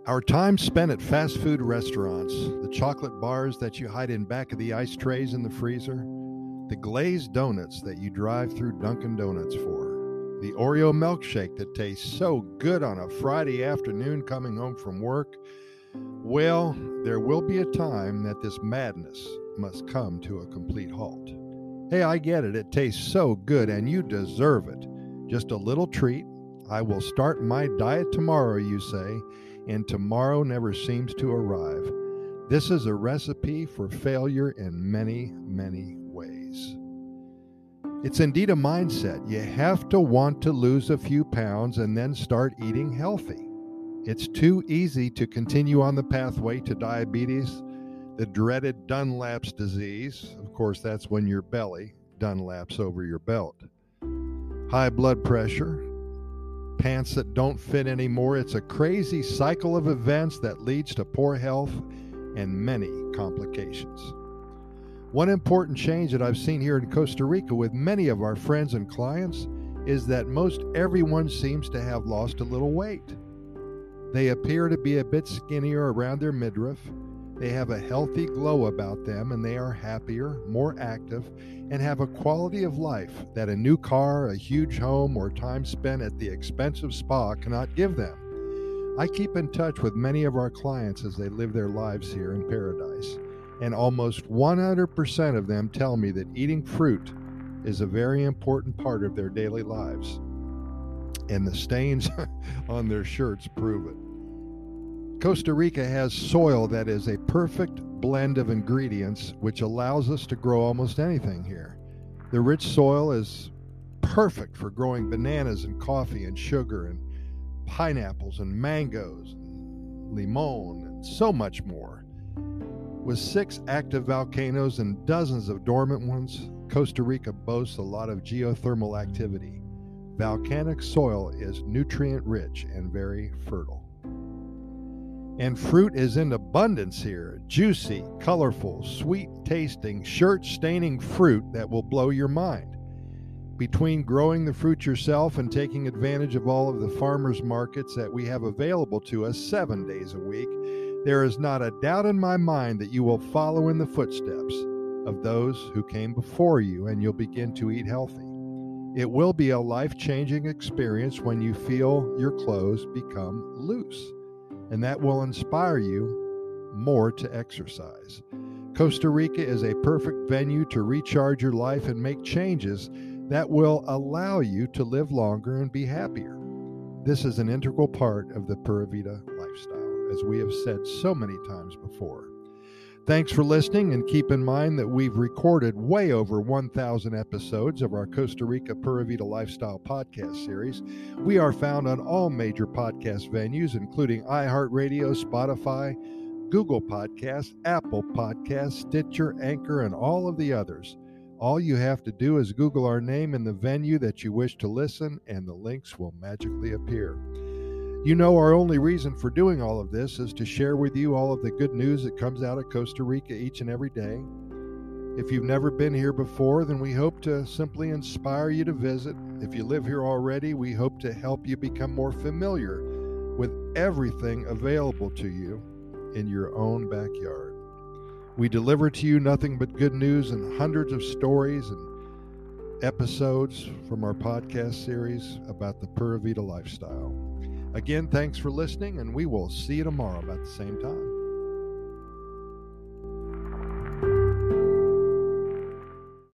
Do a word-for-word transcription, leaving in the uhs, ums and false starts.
Our time spent at fast food restaurants, the chocolate bars that you hide in back of the ice trays in the freezer, the glazed donuts that you drive through Dunkin' Donuts for, the Oreo milkshake that tastes so good on a Friday afternoon coming home from work, well, there will be a time that this madness must come to a complete halt. Hey, I get it. It tastes so good and you deserve it. Just a little treat. I will start my diet tomorrow, you say, and tomorrow never seems to arrive. This is a recipe for failure in many, many ways. It's indeed a mindset. You have to want to lose a few pounds and then start eating healthy. It's too easy to continue on the pathway to diabetes, the dreaded Dunlap's disease. Of course, that's when your belly Dunlaps over your belt. High blood pressure, pants that don't fit anymore. It's a crazy cycle of events that leads to poor health and many complications. One important change that I've seen here in Costa Rica with many of our friends and clients is that most everyone seems to have lost a little weight. They appear to be a bit skinnier around their midriff. They have a healthy glow about them, and they are happier, more active, and have a quality of life that a new car, a huge home, or time spent at the expensive spa cannot give them. I keep in touch with many of our clients as they live their lives here in paradise, and almost one hundred percent of them tell me that eating fruit is a very important part of their daily lives. And the stains on their shirts prove it. Costa Rica has soil that is a perfect blend of ingredients which allows us to grow almost anything here. The rich soil is perfect for growing bananas and coffee and sugar and pineapples and mangoes and limon and so much more. With six active volcanoes and dozens of dormant ones, Costa Rica boasts a lot of geothermal activity. Volcanic soil is nutrient-rich and very fertile. And fruit is in abundance here. Juicy, colorful, sweet-tasting, shirt-staining fruit that will blow your mind. Between growing the fruit yourself and taking advantage of all of the farmers markets that we have available to us seven days a week, there is not a doubt in my mind that you will follow in the footsteps of those who came before you, and you'll begin to eat healthy. It will be a life-changing experience when you feel your clothes become loose, and that will inspire you more to exercise. Costa Rica is a perfect venue to recharge your life and make changes that will allow you to live longer and be happier. This is an integral part of the Pura Vida lifestyle, as we have said so many times before. Thanks for listening, and keep in mind that we've recorded way over one thousand episodes of our Costa Rica Pura Vida Lifestyle podcast series. We are found on all major podcast venues, including iHeartRadio, Spotify, Google Podcasts, Apple Podcasts, Stitcher, Anchor, and all of the others. All you have to do is Google our name and the venue that you wish to listen, and the links will magically appear. You know, our only reason for doing all of this is to share with you all of the good news that comes out of Costa Rica each and every day. If you've never been here before, then we hope to simply inspire you to visit. If you live here already, we hope to help you become more familiar with everything available to you in your own backyard. We deliver to you nothing but good news and hundreds of stories and episodes from our podcast series about the Pura Vida lifestyle. Again, thanks for listening, and we will see you tomorrow about the same time.